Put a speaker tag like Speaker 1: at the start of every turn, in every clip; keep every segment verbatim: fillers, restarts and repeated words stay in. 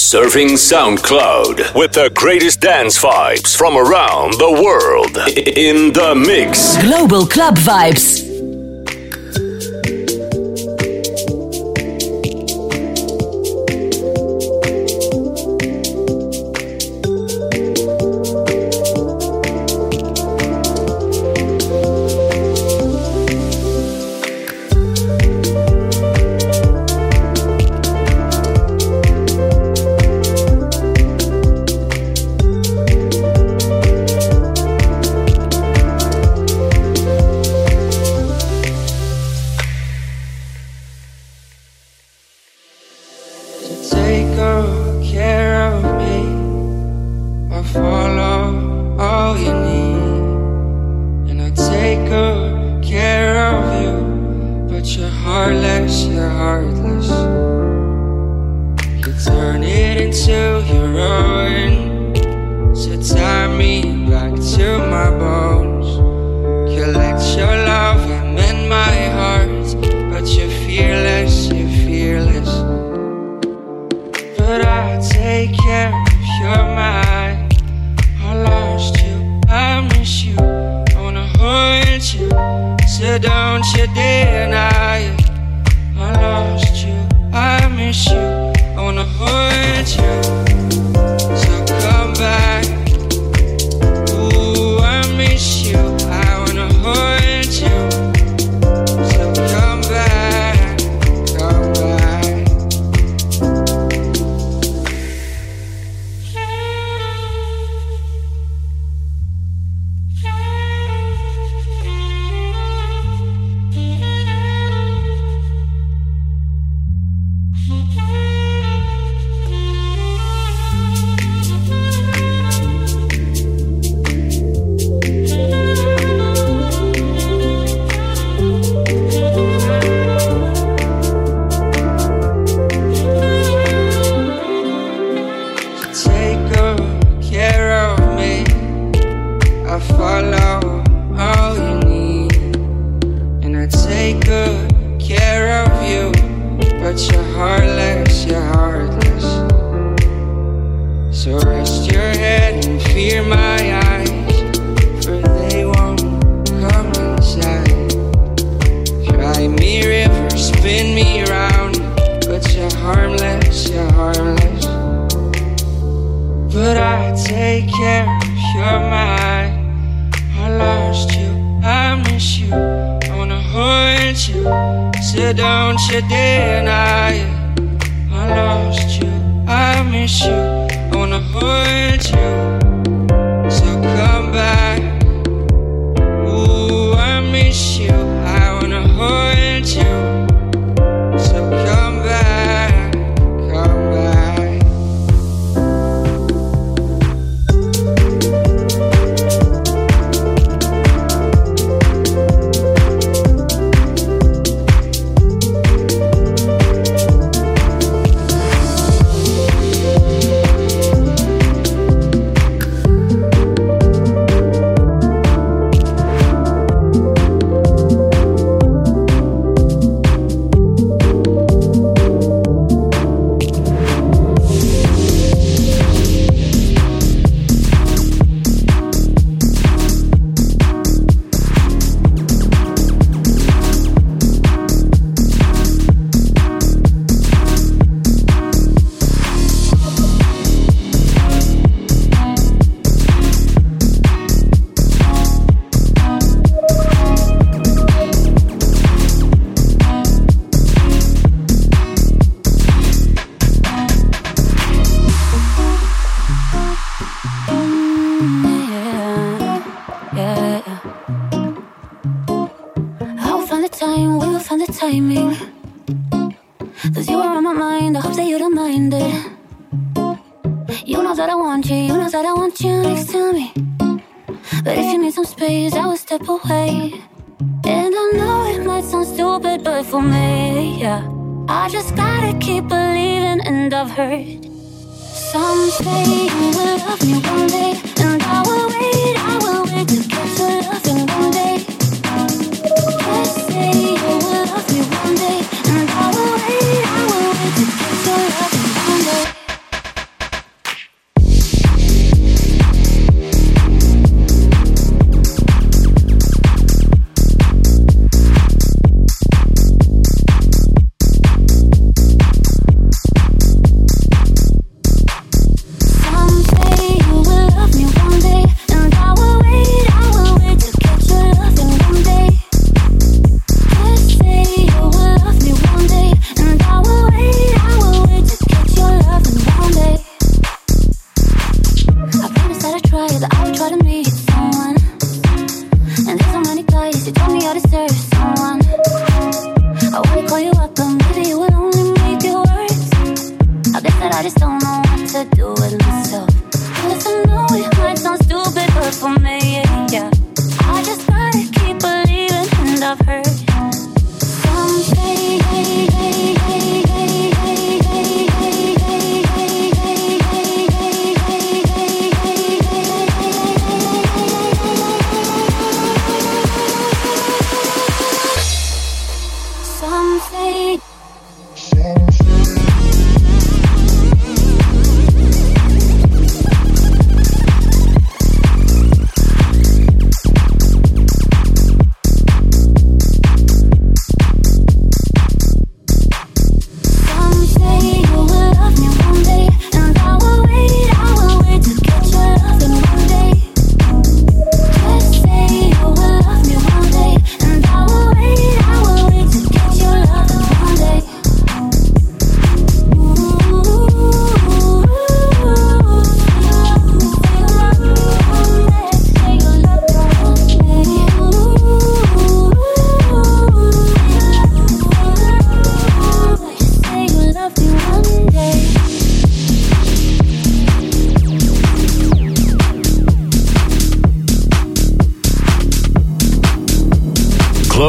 Speaker 1: Surfing SoundCloud with the greatest dance vibes from around the world. In the mix.
Speaker 2: Global Club Vibes.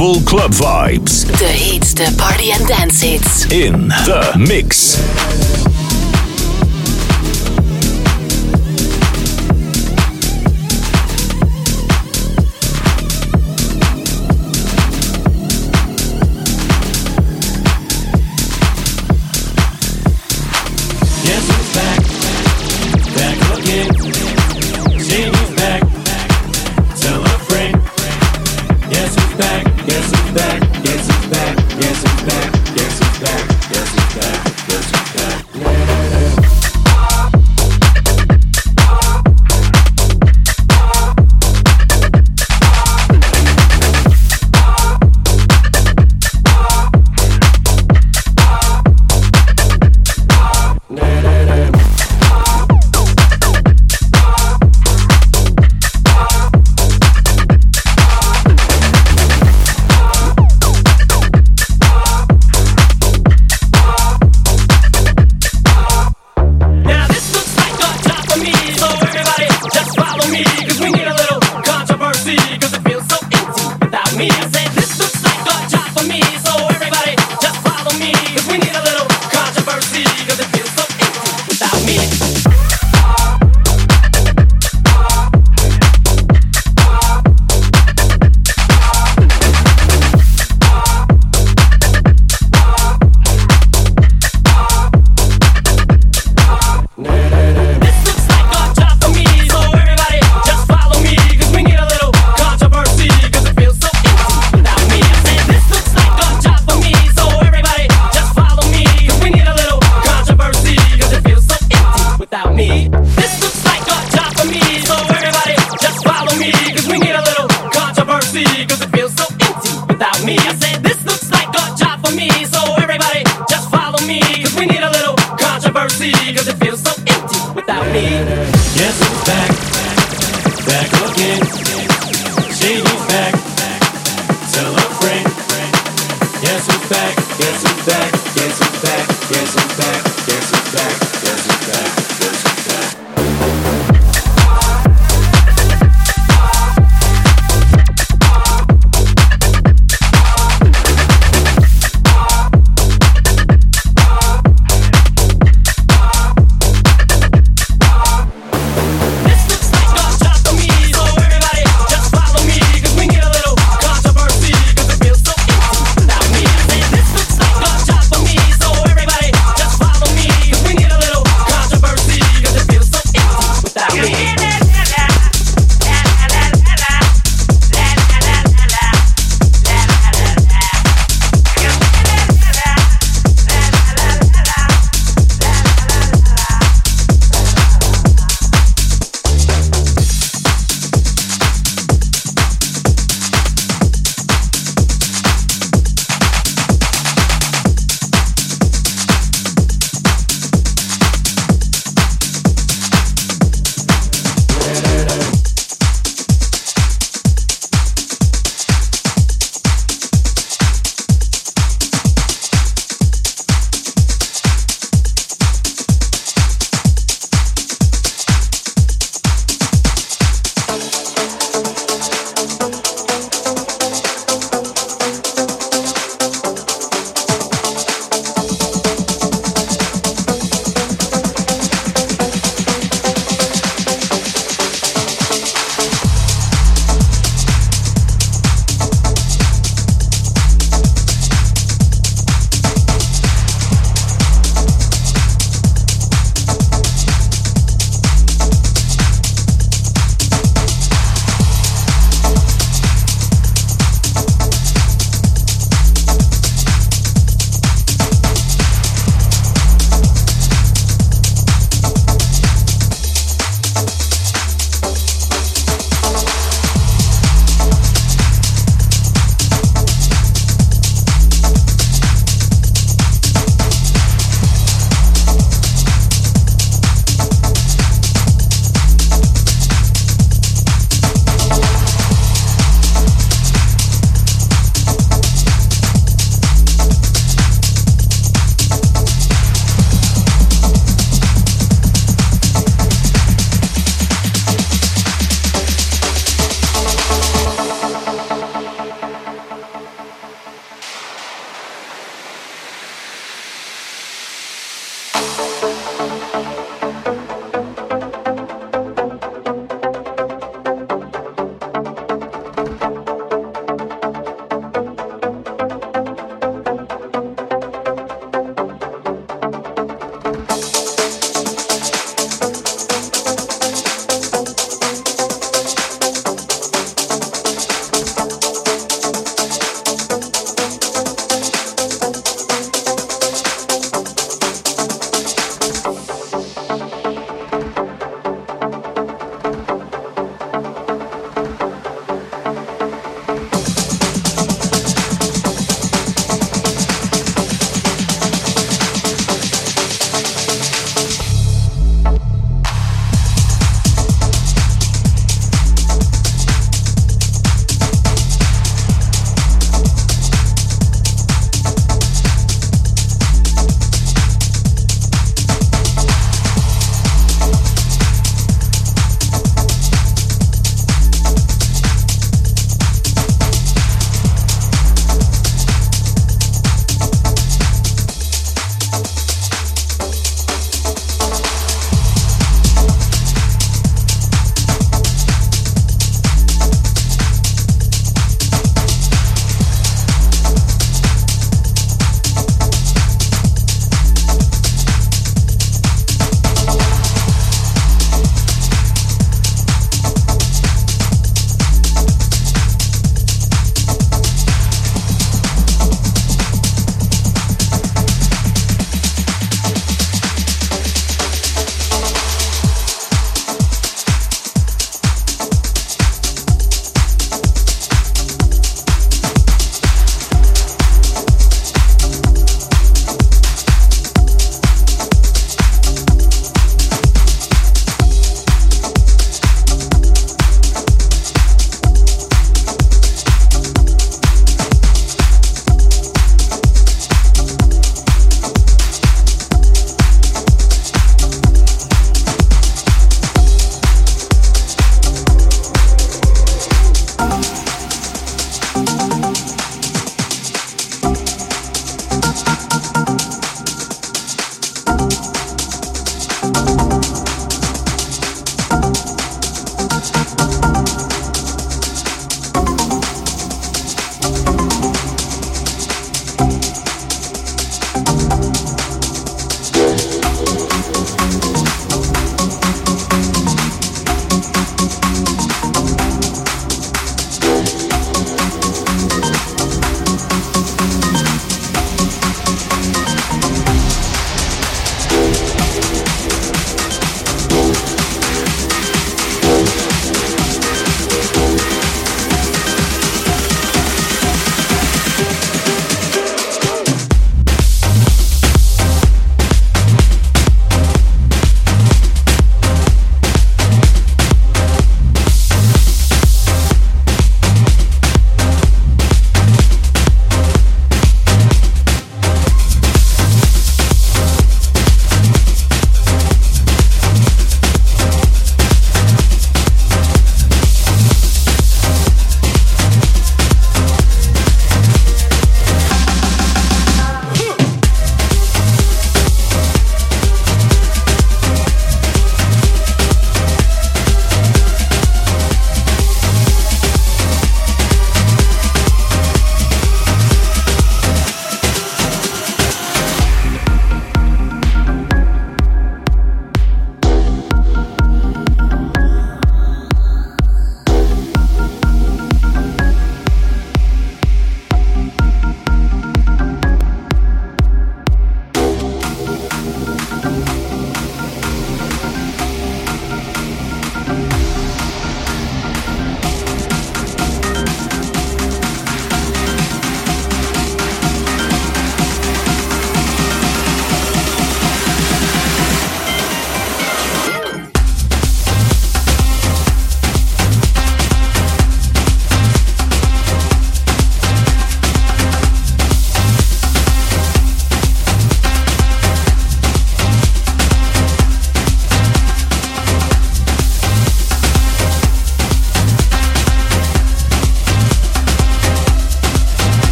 Speaker 1: Global Club Vibes.
Speaker 2: De heetste party and dance hits.
Speaker 1: In The Mix.
Speaker 3: This looks like a job for me.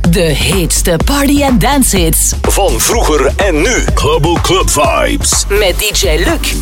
Speaker 2: De heetste party- en dancehits.
Speaker 1: Van vroeger en nu. Global Club Vibes.
Speaker 2: Met D J Luc.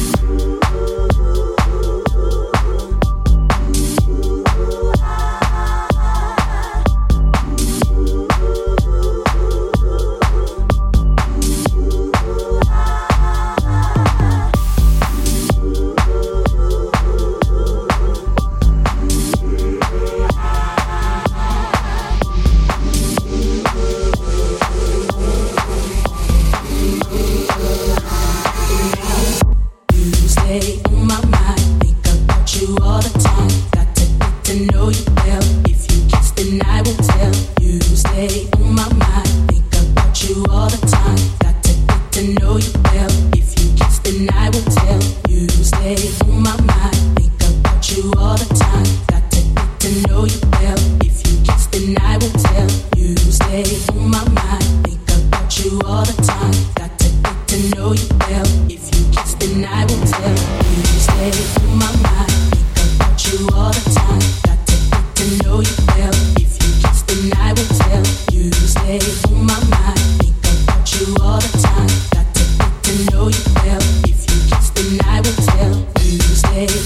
Speaker 3: Stay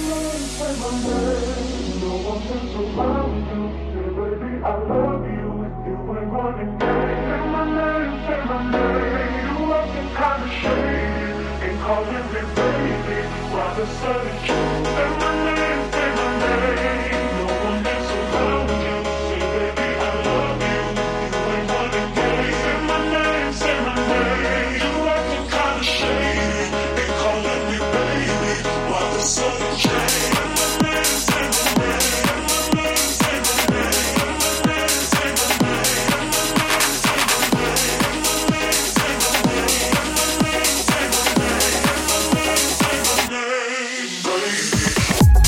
Speaker 3: Baby.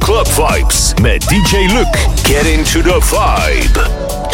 Speaker 1: club vibes met D J Luke. Get into the vibe.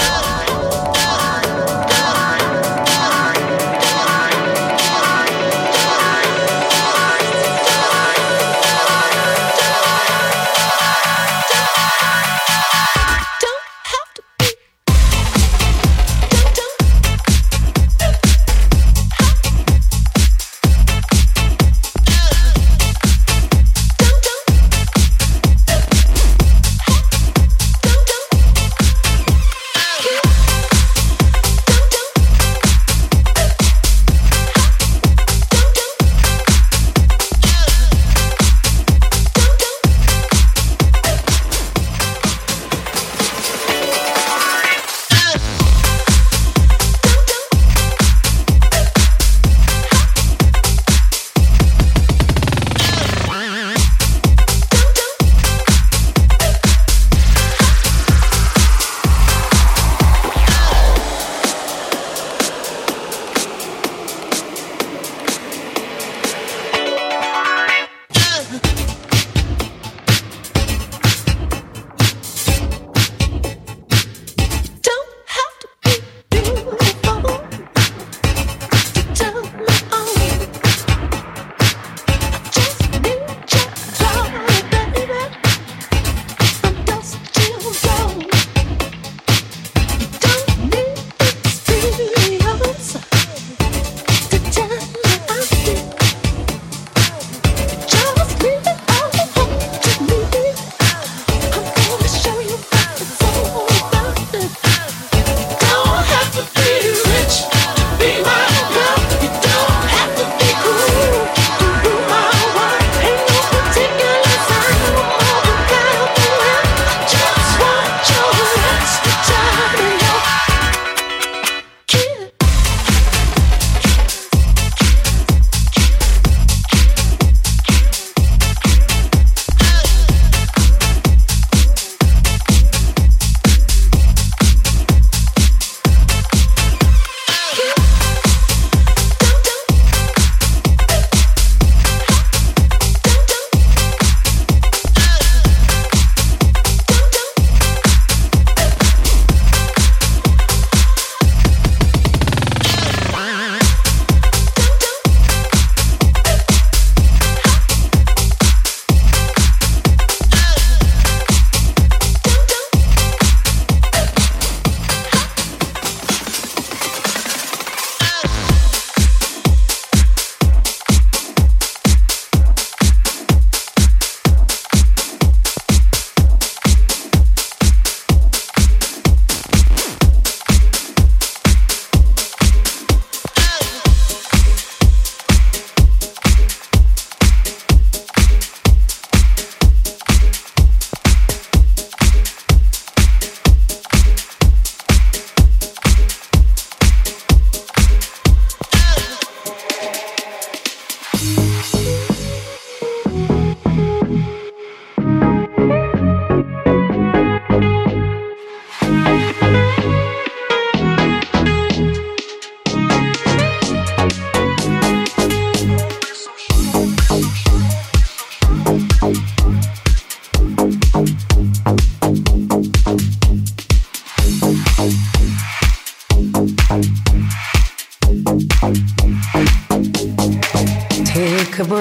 Speaker 3: Take a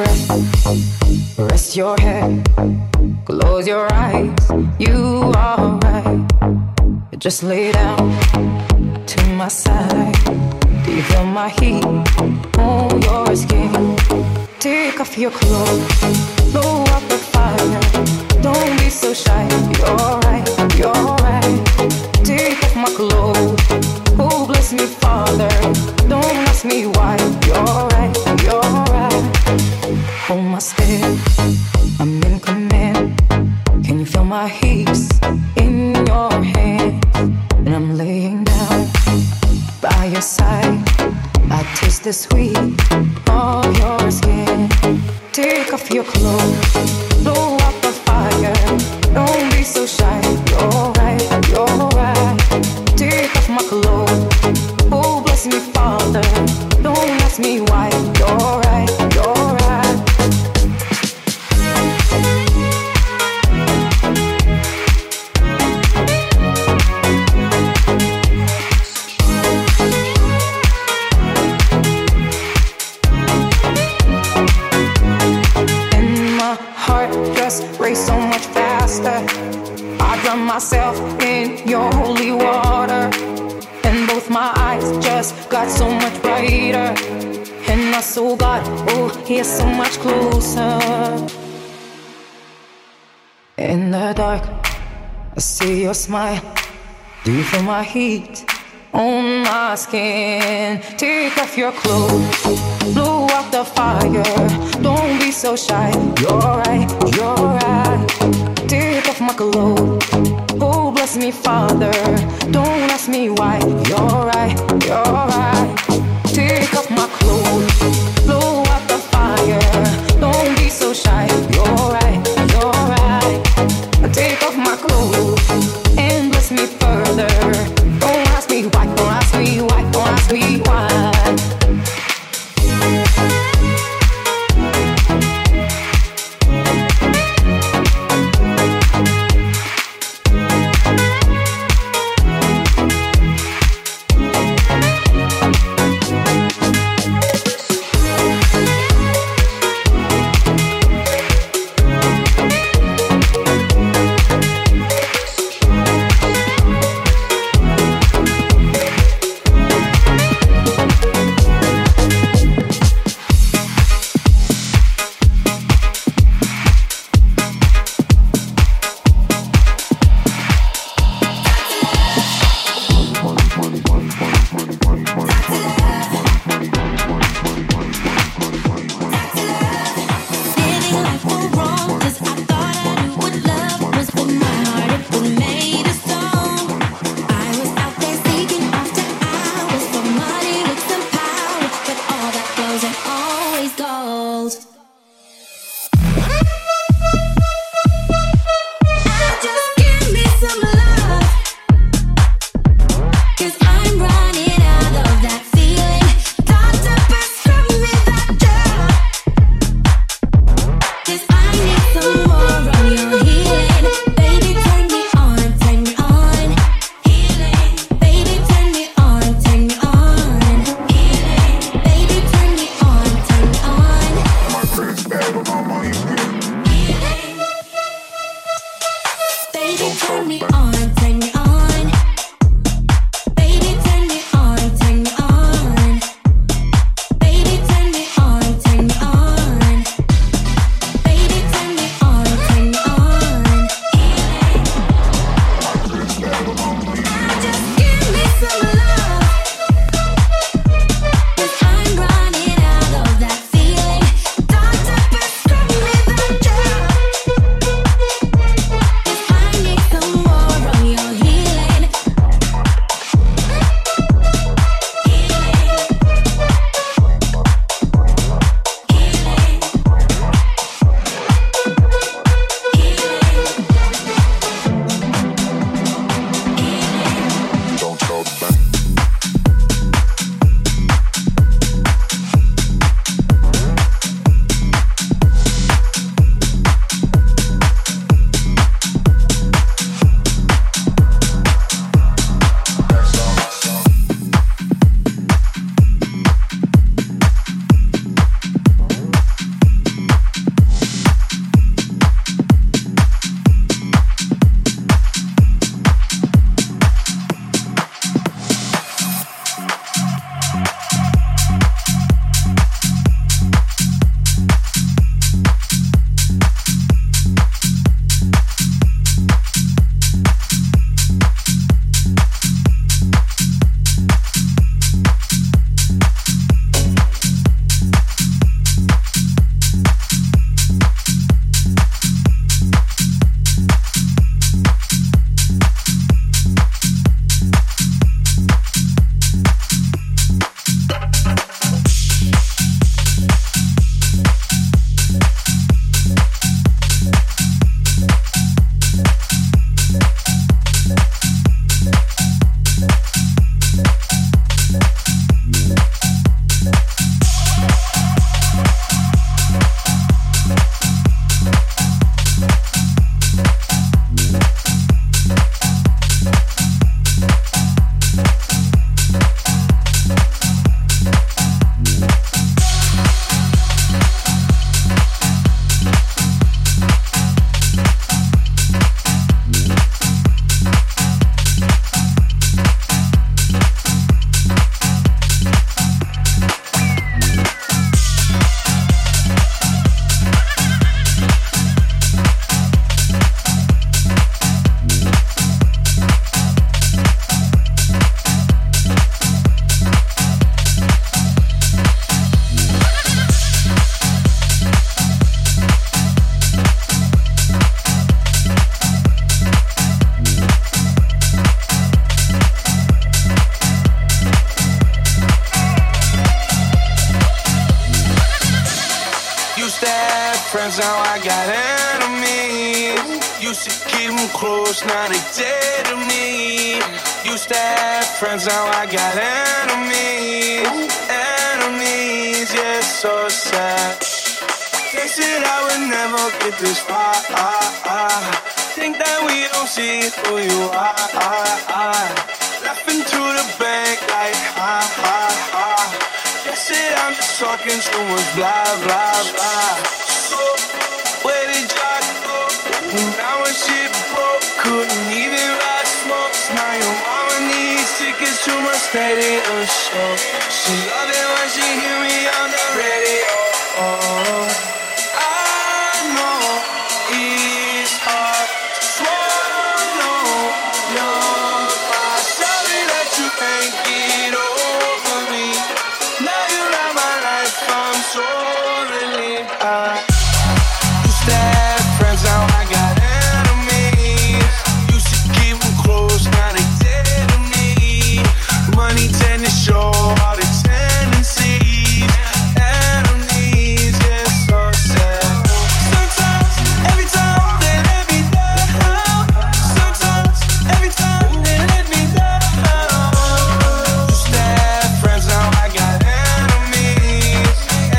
Speaker 3: breath, rest your head, close your eyes, you are right. Just lay down to my side. Do you feel my heat on your skin? Take off your clothes, blow up the fire. Don't be so shy, you're right, you're right. Take off my clothes, oh bless me Father. Don't ask me why, you're right, you're right. Hold my step, I'm in command. Can you feel my hips in your hands? And I'm laying down by your side. I taste the sweet of your skin. Take off your clothes, blow up the fire. Don't be so shy, you're right, you're right. Take off my clothes, oh bless me Father. Don't ask me why, you're right, you're right. race so much faster. I drown myself in your holy water, and both my eyes just got so much brighter. And my soul got, oh, here so much closer. In the dark, I see your smile. Do you feel my heat on my skin? Take off your clothes, blow out the fire. Don't be so shy. You're right, you're right. Take off my clothes. Oh, bless me, Father. Don't ask me why. You're right, you're right. Take off my clothes, blow out the fire. Don't be so shy. You're right, you're right. Take off my clothes and bless me further. Don't ask me why, don't ask me why, don't ask me why.
Speaker 4: Used to have friends, now I got enemies. Used to keep them close, now they dead to me. Used to have friends, now I got enemies. Enemies, yeah, so sad. They said I would never get this far. Think that we don't see who you are. Laughing to the bank like ha ha ha. They said I'm just talking too much blah blah blah. So where did y'all go? Now when shit broke, couldn't even ride smokes. Now your mama needs tickets to my stadium show. She love it when she hear me on the radio. Oh, I know it's hard to swallow. You're my sorry that you can't get over me. Now you're out my life, I'm so relieved. I used to have friends, now I got enemies. Used to keep them close, now they dead to me. Money tend to show all the tendencies. Enemies, yeah, so sad. Sometimes, every time they let me down. Sometimes, every time they let me down. Used to have friends, now I got enemies.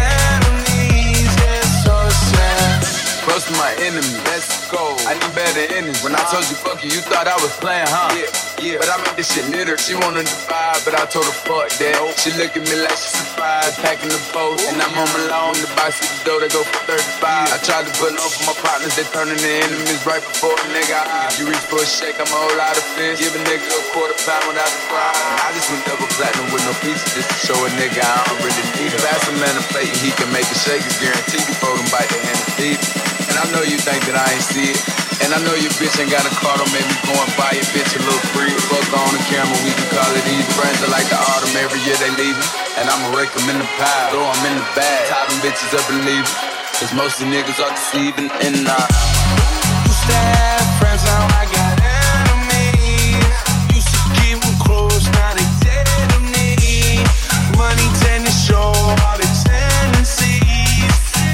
Speaker 4: Enemies, yeah, so sad.
Speaker 5: Close to my enemy, let's go. I need better enemies. When I told you fuck you, you thought I was playing, huh? Yeah, yeah. But I made this shit litter. She wanted to vibe, but I told her fuck that. She look at me like she surprised, packing the post. And I'm on my lawn, the box at the door, they go for thirty-five. I tried to put on for my partners, they turning to enemies right before a nigga eye. You reach for a shake, I'm a whole lot of fish. Give a nigga a quarter pound without the fry. I just went double platinum with no pieces, just to show a nigga I don't really need it. Pass a man a plate and he can make a shake. It's guaranteed before them bite the hand and feed it. And I know you think that I ain't see it. And I know your bitch ain't got a car, don't make me go and buy your bitch a little free. Fuck on the camera, we can call it easy. Friends are like the autumn, every year they leaving. And I'ma rake them in the pile, throw them in the bag. Tie them bitches up and leave them. Cause most of the niggas are deceiving and I
Speaker 4: Used to have friends, now I got enemies. Used to keep them close, now they dead to me. Money tend to show all the tendencies.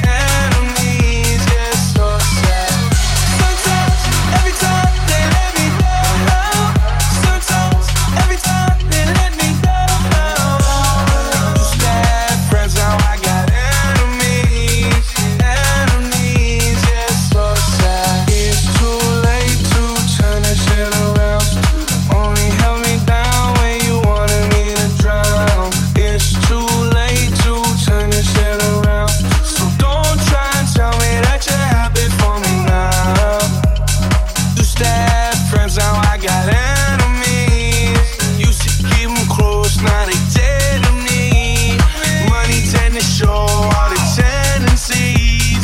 Speaker 4: Enemies, yeah, so sad. Sometimes, every time they let me down. Sometimes, every time they let me down. Used to have friends, now I got enemies. Enemies, yeah, so sad. It's too late to turn that shit around. Only held me down when you wanted me to drown. It's too late to turn this shit around. So don't try and tell me that you're happy for me now. Used to have friends, now I got enemies. Used to keep them close, now they dead to me. Money tend to show all the tendencies.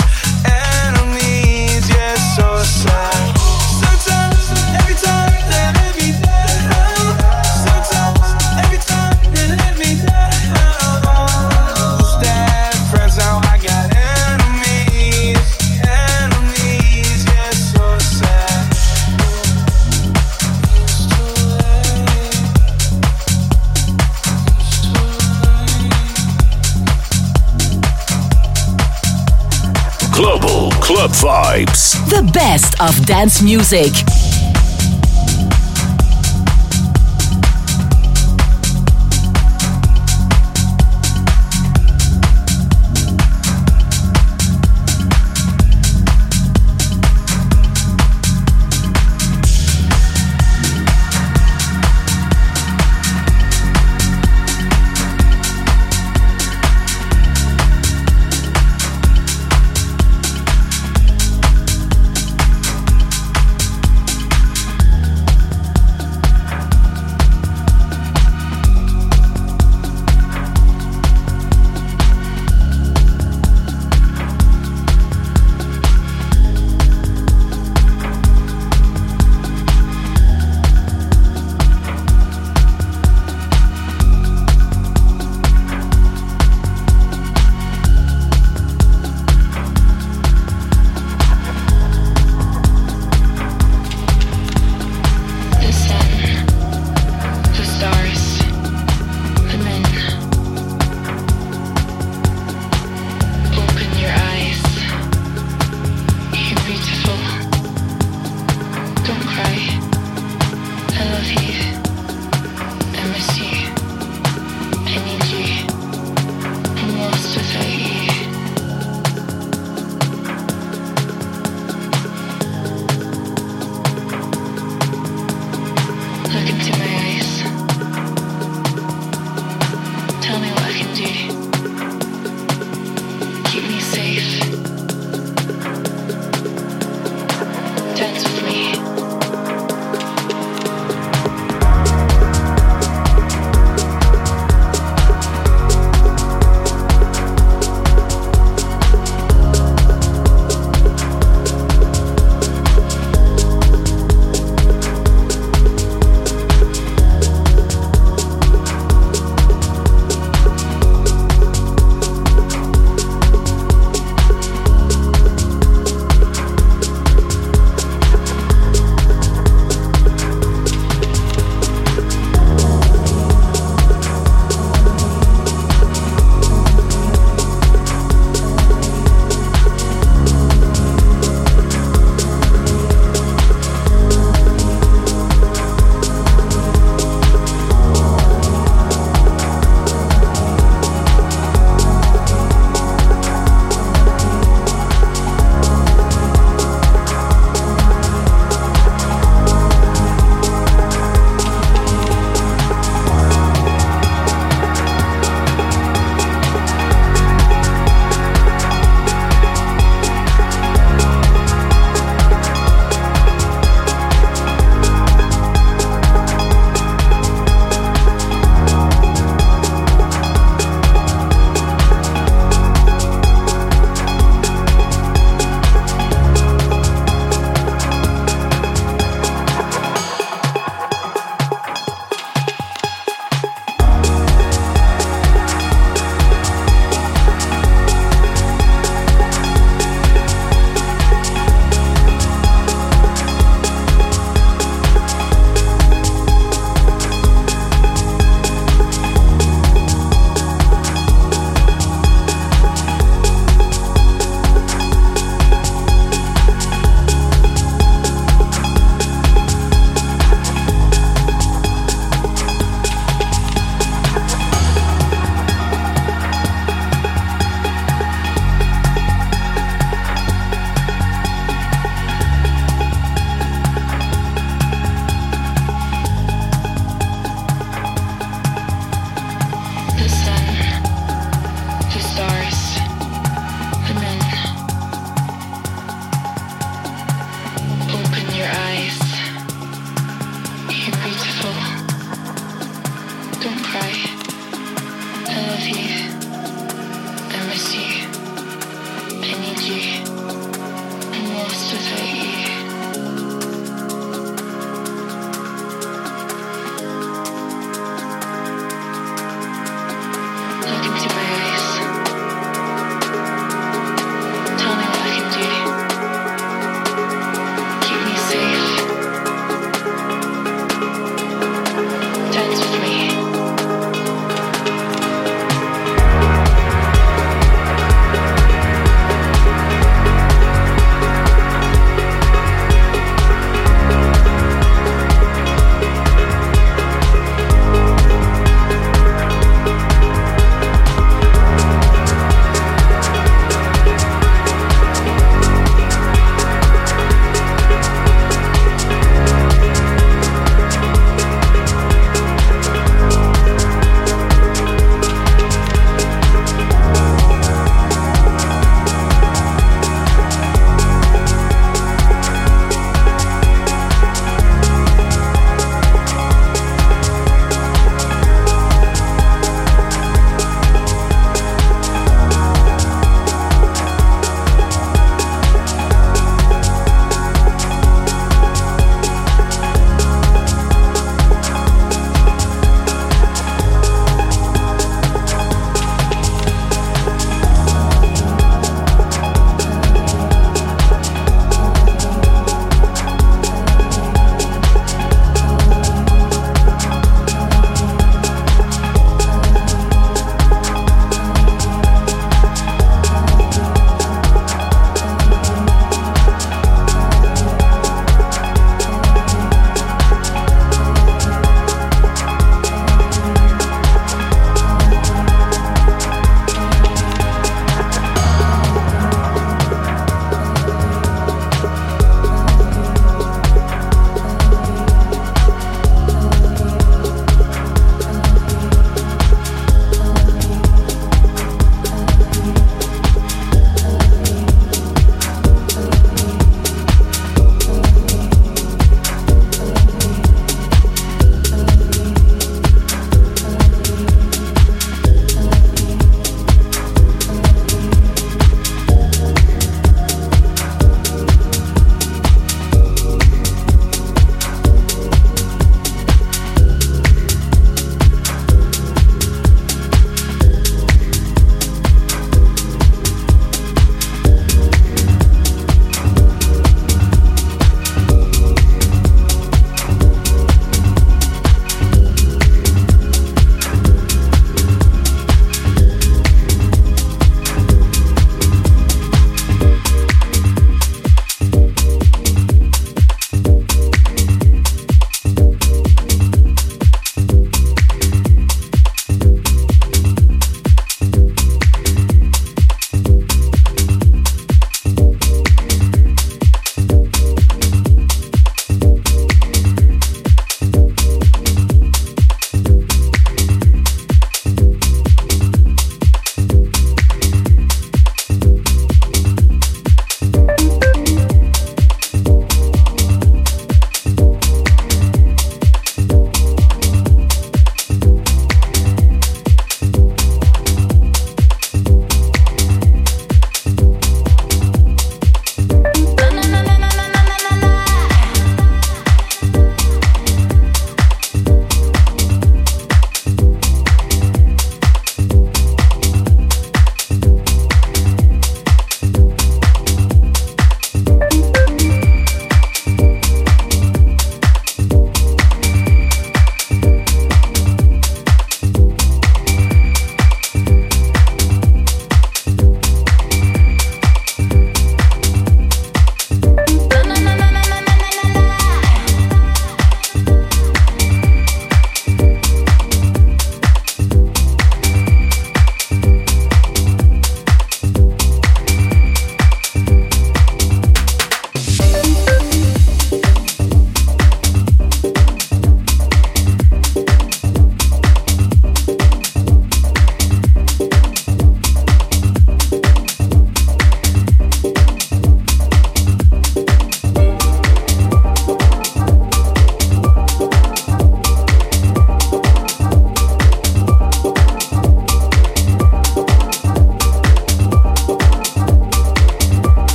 Speaker 4: Enemies, yeah, so sad. Sometimes, every time they let me down. Sometimes, every time they let me down. Used to have friends, now I got enemies. Enemies, yeah, so sad. It's too late. It's too late.
Speaker 1: Global Club Vibes.
Speaker 2: The best of dance music.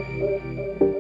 Speaker 6: Thank